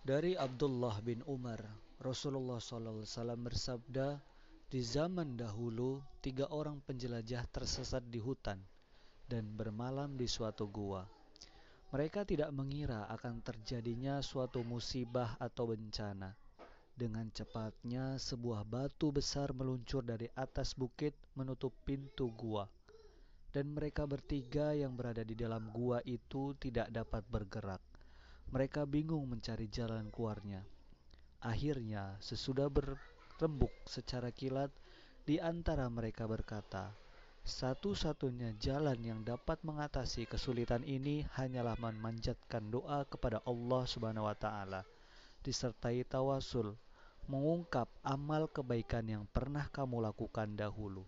Dari Abdullah bin Umar, Rasulullah SAW bersabda, di zaman dahulu 3 orang penjelajah tersesat di hutan dan bermalam di suatu gua. Mereka tidak mengira akan terjadinya suatu musibah atau bencana. Dengan cepatnya sebuah batu besar meluncur dari atas bukit menutup pintu gua, dan mereka bertiga yang berada di dalam gua itu tidak dapat bergerak. Mereka bingung mencari jalan keluarnya. Akhirnya, sesudah berembuk secara kilat, di antara mereka berkata, satu-satunya jalan yang dapat mengatasi kesulitan ini hanyalah memanjatkan doa kepada Allah Subhanahu wa taala, disertai tawasul, mengungkap amal kebaikan yang pernah kamu lakukan dahulu.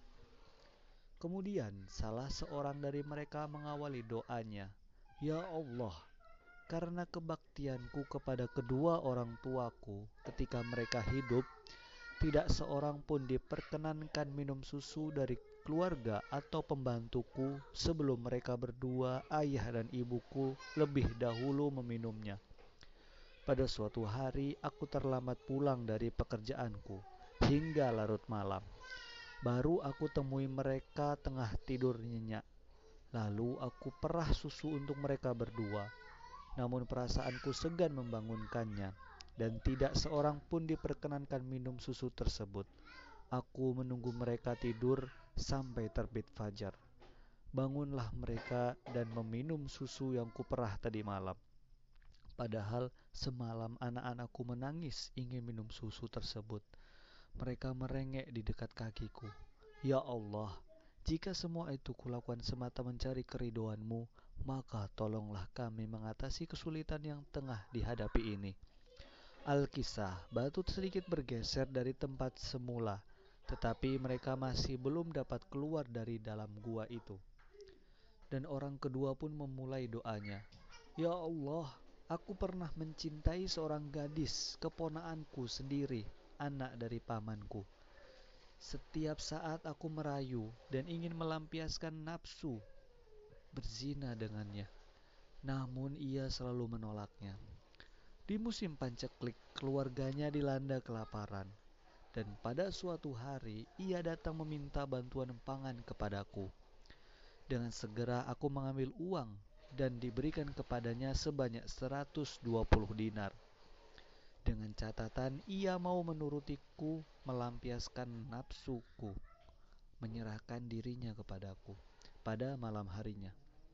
Kemudian salah seorang dari mereka mengawali doanya, "Ya Allah, karena kebaktianku kepada kedua orang tuaku ketika mereka hidup, tidak seorang pun diperkenankan minum susu dari keluarga atau pembantuku sebelum mereka berdua, ayah dan ibuku, lebih dahulu meminumnya. Pada suatu hari aku terlambat pulang dari pekerjaanku hingga larut malam. Baru aku temui mereka tengah tidur nyenyak. Lalu aku perah susu untuk mereka berdua. Namun perasaanku segan membangunkannya, dan tidak seorang pun diperkenankan minum susu tersebut. Aku menunggu mereka tidur sampai terbit fajar. Bangunlah mereka dan meminum susu yang kuperah tadi malam. Padahal semalam anak-anakku menangis ingin minum susu tersebut. Mereka merengek di dekat kakiku. Ya Allah, jika semua itu kulakukan semata mencari keridhoan-Mu, maka tolonglah kami mengatasi kesulitan yang tengah dihadapi ini. Al-Kisah, batu sedikit bergeser dari tempat semula, tetapi mereka masih belum dapat keluar dari dalam gua itu. Dan orang kedua pun memulai doanya. Ya Allah, aku pernah mencintai seorang gadis, keponakanku sendiri, anak dari pamanku. Setiap saat aku merayu dan ingin melampiaskan nafsu berzina dengannya. Namun ia selalu menolaknya. Di musim panceklik, keluarganya dilanda kelaparan. Dan pada suatu hari, ia datang meminta bantuan pangan kepadaku. Dengan segera aku mengambil uang dan diberikan kepadanya sebanyak 120 dinar. Dengan catatan ia mau menurutiku melampiaskan nafsuku, menyerahkan dirinya kepadaku pada malam harinya.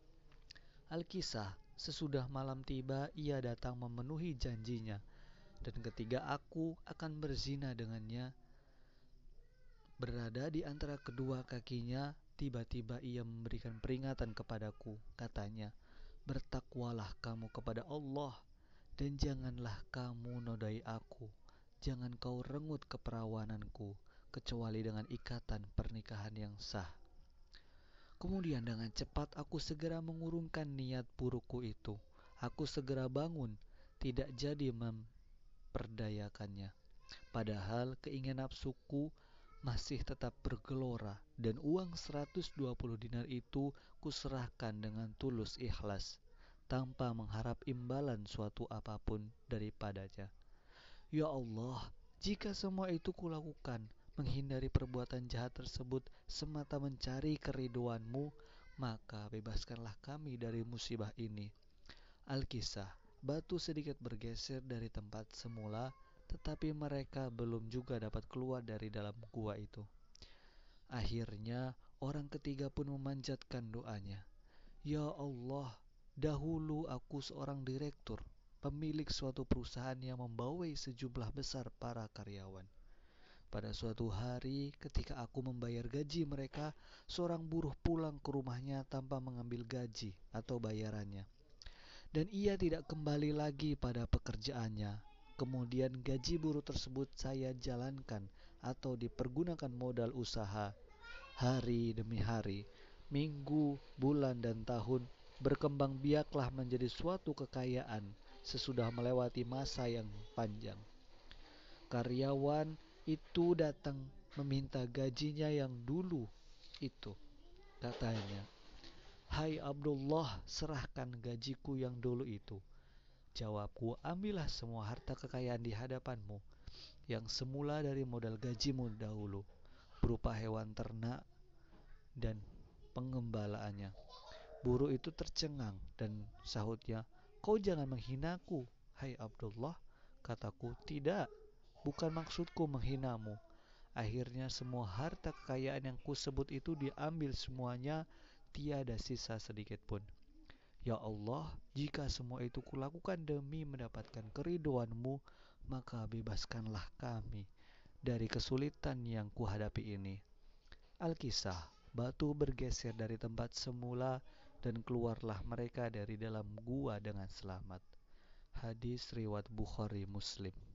Al-Kisah, sesudah malam tiba ia datang memenuhi janjinya, dan ketika aku akan berzina dengannya, berada di antara kedua kakinya, tiba-tiba ia memberikan peringatan kepadaku. Katanya, bertakwalah kamu kepada Allah, dan janganlah kamu nodai aku. Jangan kau rengut keperawananku, kecuali dengan ikatan pernikahan yang sah. Kemudian dengan cepat aku segera mengurungkan niat burukku itu. Aku segera bangun, tidak jadi memperdayakannya. Padahal keinginan nafsuku masih tetap bergelora, dan uang 120 dinar itu kuserahkan dengan tulus ikhlas, tanpa mengharap imbalan suatu apapun daripadanya. Ya Allah, jika semua itu kulakukan, menghindari perbuatan jahat tersebut semata mencari keridhoan-Mu, maka bebaskanlah kami dari musibah ini. Al-Kisah, batu sedikit bergeser dari tempat semula, tetapi mereka belum juga dapat keluar dari dalam gua itu. Akhirnya, orang ketiga pun memanjatkan doanya. Ya Allah, dahulu aku seorang direktur, pemilik suatu perusahaan yang membawai sejumlah besar para karyawan. Pada suatu hari, ketika aku membayar gaji mereka, seorang buruh pulang ke rumahnya tanpa mengambil gaji atau bayarannya. Dan ia tidak kembali lagi pada pekerjaannya. Kemudian gaji buruh tersebut saya jalankan atau dipergunakan modal usaha. Hari demi hari, minggu, bulan, dan tahun berkembang biaklah menjadi suatu kekayaan sesudah melewati masa yang panjang. Karyawan itu datang meminta gajinya yang dulu itu. Katanya, "Hai Abdullah, serahkan gajiku yang dulu itu." Jawabku, ambillah semua harta kekayaan di hadapanmu, yang semula dari modal gajimu dahulu, berupa hewan ternak dan pengembalaannya. Buruk itu tercengang dan sahutnya, kau jangan menghinaku, hai Abdullah. Kataku, tidak, bukan maksudku menghinamu. Akhirnya semua harta kekayaan yang kusebut itu diambil semuanya, tiada sisa sedikit pun. Ya Allah, jika semua itu kulakukan demi mendapatkan keridhoan-Mu, maka bebaskanlah kami dari kesulitan yang kuhadapi ini. Al-Kisah, batu bergeser dari tempat semula dan keluarlah mereka dari dalam gua dengan selamat. Hadis riwayat Bukhari Muslim.